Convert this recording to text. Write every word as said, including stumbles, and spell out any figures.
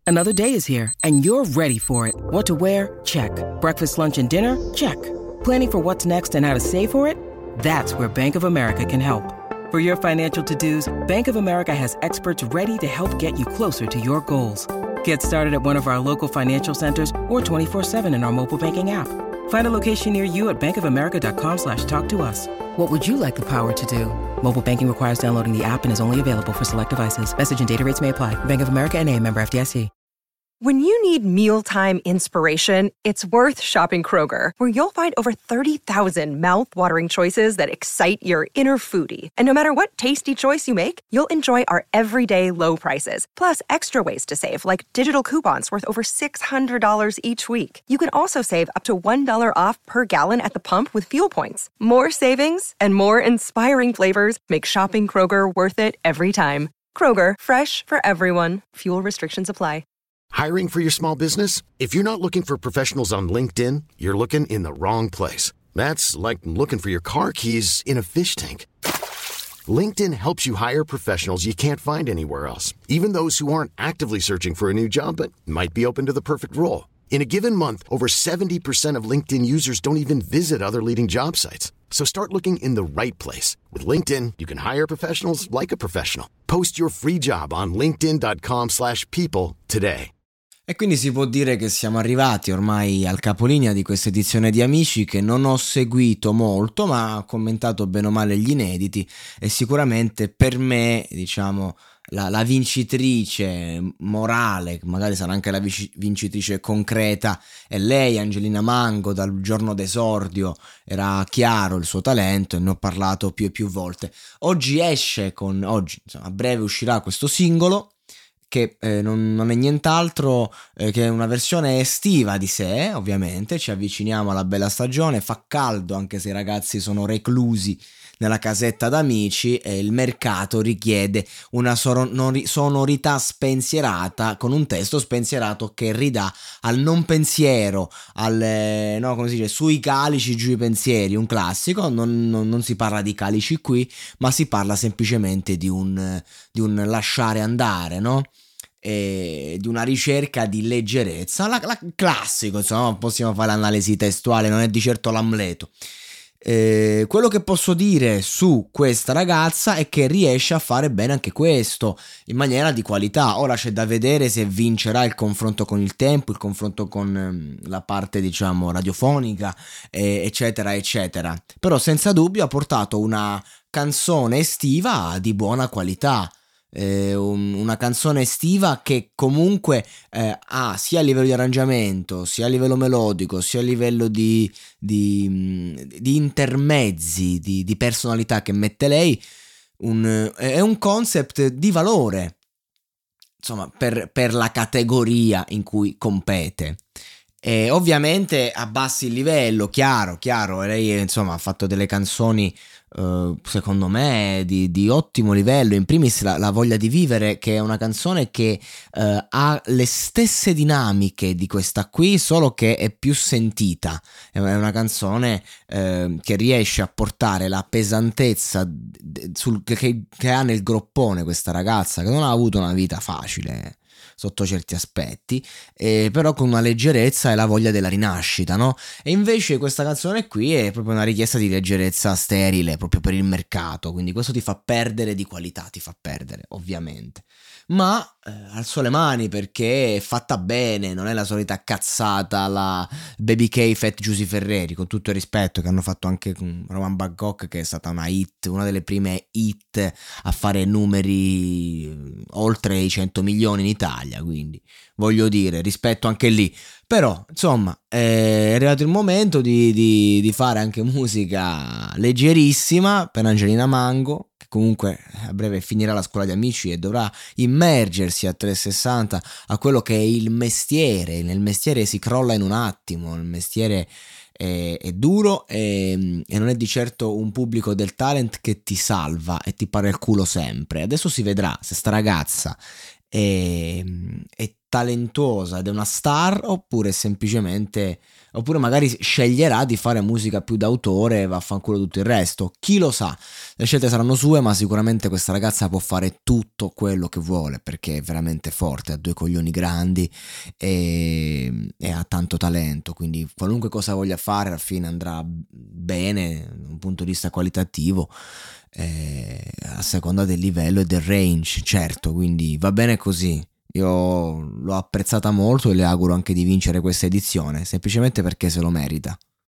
Another day is here, and you're ready for it. What to wear? Check. Breakfast, lunch, and dinner? Check. Planning for what's next and how to save for it? That's where Bank of America can help. For your financial to-dos, Bank of America has experts ready to help get you closer to your goals. Get started at one of our local financial centers or twenty-four seven in our mobile banking app. Find a location near you at bankofamerica.com slash talk to us. What would you like the power to do? Mobile banking requires downloading the app and is only available for select devices. Message and data rates may apply. Bank of America N A, member F D I C. When you need mealtime inspiration, it's worth shopping Kroger, where you'll find over thirty thousand mouth-watering choices that excite your inner foodie. And no matter what tasty choice you make, you'll enjoy our everyday low prices, plus extra ways to save, like digital coupons worth over six hundred dollars each week. You can also save up to one dollar off per gallon at the pump with fuel points. More savings and more inspiring flavors make shopping Kroger worth it every time. Kroger, fresh for everyone. Fuel restrictions apply. Hiring for your small business? If you're not looking for professionals on LinkedIn, you're looking in the wrong place. That's like looking for your car keys in a fish tank. LinkedIn helps you hire professionals you can't find anywhere else, even those who aren't actively searching for a new job but might be open to the perfect role. In a given month, over seventy percent of LinkedIn users don't even visit other leading job sites. So start looking in the right place. With LinkedIn, you can hire professionals like a professional. Post your free job on linkedin.com slash people today. E quindi si può dire che siamo arrivati ormai al capolinea di questa edizione di Amici, che non ho seguito molto, ma ho commentato bene o male gli inediti, e sicuramente per me, diciamo, la, la vincitrice morale, magari sarà anche la vici- vincitrice concreta, è lei, Angelina Mango. Dal giorno d'esordio era chiaro il suo talento e ne ho parlato più e più volte. Oggi esce con, oggi, insomma, a breve uscirà questo singolo, che eh, non, non è nient'altro eh, che una versione estiva di sé. Ovviamente ci avviciniamo alla bella stagione, fa caldo anche se i ragazzi sono reclusi nella casetta d'amici, e il mercato richiede una sonorità spensierata, con un testo spensierato che ridà al non pensiero, al, no, come si dice, sui calici giù i pensieri, un classico. Non, non, non si parla di calici qui, ma si parla semplicemente di un, di un lasciare andare, no? E di una ricerca di leggerezza, la, la classico, insomma, possiamo fare l'analisi testuale, non è di certo l'Amleto. Eh, quello che posso dire su questa ragazza è che riesce a fare bene anche questo in maniera di qualità. Ora c'è da vedere se vincerà il confronto con il tempo, il confronto con ehm, la parte, diciamo, radiofonica, eh, eccetera eccetera. Però senza dubbio ha portato una canzone estiva di buona qualità. Eh, un, una canzone estiva che comunque eh, ha sia a livello di arrangiamento, sia a livello melodico, sia a livello di, di, di intermezzi, di, di personalità che mette lei, un, è un concept di valore, insomma, per, per la categoria in cui compete. E ovviamente abbassi il livello, chiaro, chiaro, lei insomma ha fatto delle canzoni uh, secondo me di, di ottimo livello, in primis la, la Voglia di vivere, che è una canzone che uh, ha le stesse dinamiche di questa qui, solo che è più sentita, è una canzone uh, che riesce a portare la pesantezza d- sul, che, che ha nel groppone questa ragazza, che non ha avuto una vita facile sotto certi aspetti, eh, però con una leggerezza e la voglia della rinascita, no? E invece questa canzone qui è proprio una richiesta di leggerezza sterile, proprio per il mercato, quindi questo ti fa perdere di qualità, ti fa perdere, ovviamente. Ma eh, alzo le mani perché è fatta bene, non è la solita cazzata alla Baby K, Fat Giusy Ferreri, con tutto il rispetto, che hanno fatto anche con Roman Bangkok, che è stata una hit, una delle prime hit a fare numeri oltre i cento milioni in Italia, quindi voglio dire, rispetto anche lì. Però insomma è arrivato il momento di, di, di fare anche musica leggerissima per Angelina Mango, che comunque a breve finirà la scuola di amici e dovrà immergersi a trecentosessanta a quello che è il mestiere. Nel mestiere si crolla in un attimo, il mestiere è, è duro e, e non è di certo un pubblico del talent che ti salva e ti pare il culo sempre. Adesso si vedrà se sta ragazza è, è talentuosa ed è una star, oppure semplicemente, oppure magari sceglierà di fare musica più d'autore e vaffanculo tutto il resto. Chi lo sa, le scelte saranno sue, ma sicuramente questa ragazza può fare tutto quello che vuole, perché è veramente forte, ha due coglioni grandi e, e ha tanto talento, quindi qualunque cosa voglia fare alla fine andrà bene da un punto di vista qualitativo, eh, a seconda del livello e del range, certo, quindi va bene così. Io l'ho apprezzata molto e le auguro anche di vincere questa edizione, semplicemente perché se lo merita.